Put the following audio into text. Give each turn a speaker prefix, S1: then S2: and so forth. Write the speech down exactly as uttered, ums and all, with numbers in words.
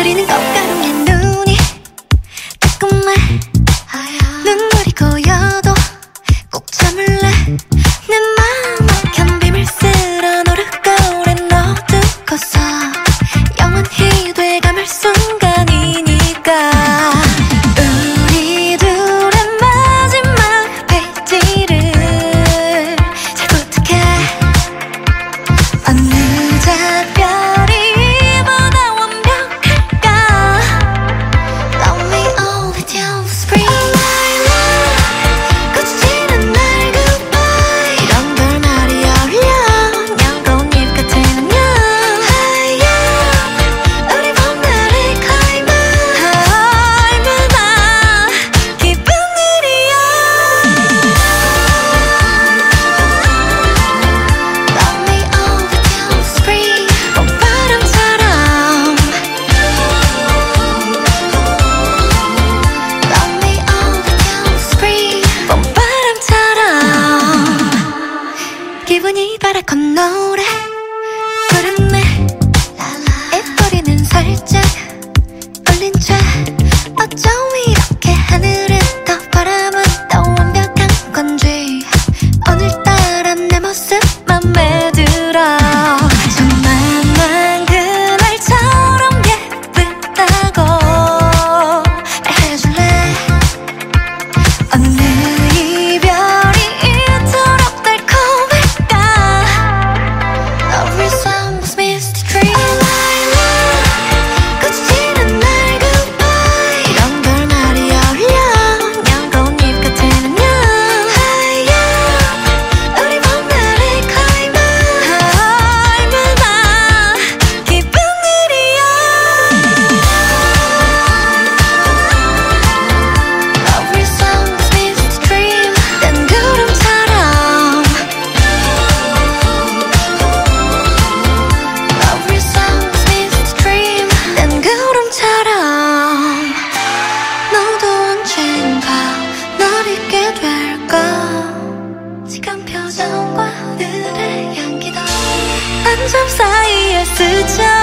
S1: 그리는 꽃가루에 눈이 따끔해. 눈물이 고여도 꼭 참을래. 내 맘 막힌 비밀 쓸어 노르고 오랜 어두운 곳서 영원히 돼감을 순간이니까. 우리 둘의 마지막 페이지를 잘 부탁해. 어느 작별이 이보다 완벽할까. Love me all with you, spring my love. 꽃이 지는 날 goodbye. 이런 걸 말이 어울려. 연꽃잎 같은 안녕. 하얀 우리 봄날의 climax. 얼마나 기쁜 일이야. Love me all with you, spring. 봄바람처럼. Love me all with you, spring. 봄바람처럼. 기분이 바라건 노래 부르네. 입꼬리는 살짝 올린 채 어쩜 이렇게 하늘은 더 바람은 더 완벽한 건지 오늘따라 내 모습 맘에 들어. 처음 만난 그날처럼 예쁘다고 말해줄래. 어느 이별이 이토록 달콤할까. Love resembles misty dream. My love. 꽃이 지는 날 goodbye. 이런 걸 말이 어울려. 연꽃잎 같은 안녕. 하얀 우리 봄날의 climax. 얼마나 기쁜 일이야. Love resembles misty dream. 난 구름처럼. Love resembles misty dream. 난 구름처럼. 너도 언젠가 널 잊게 될까. 지금 표정과 오늘의 향기도 한 점 사이에 스쳐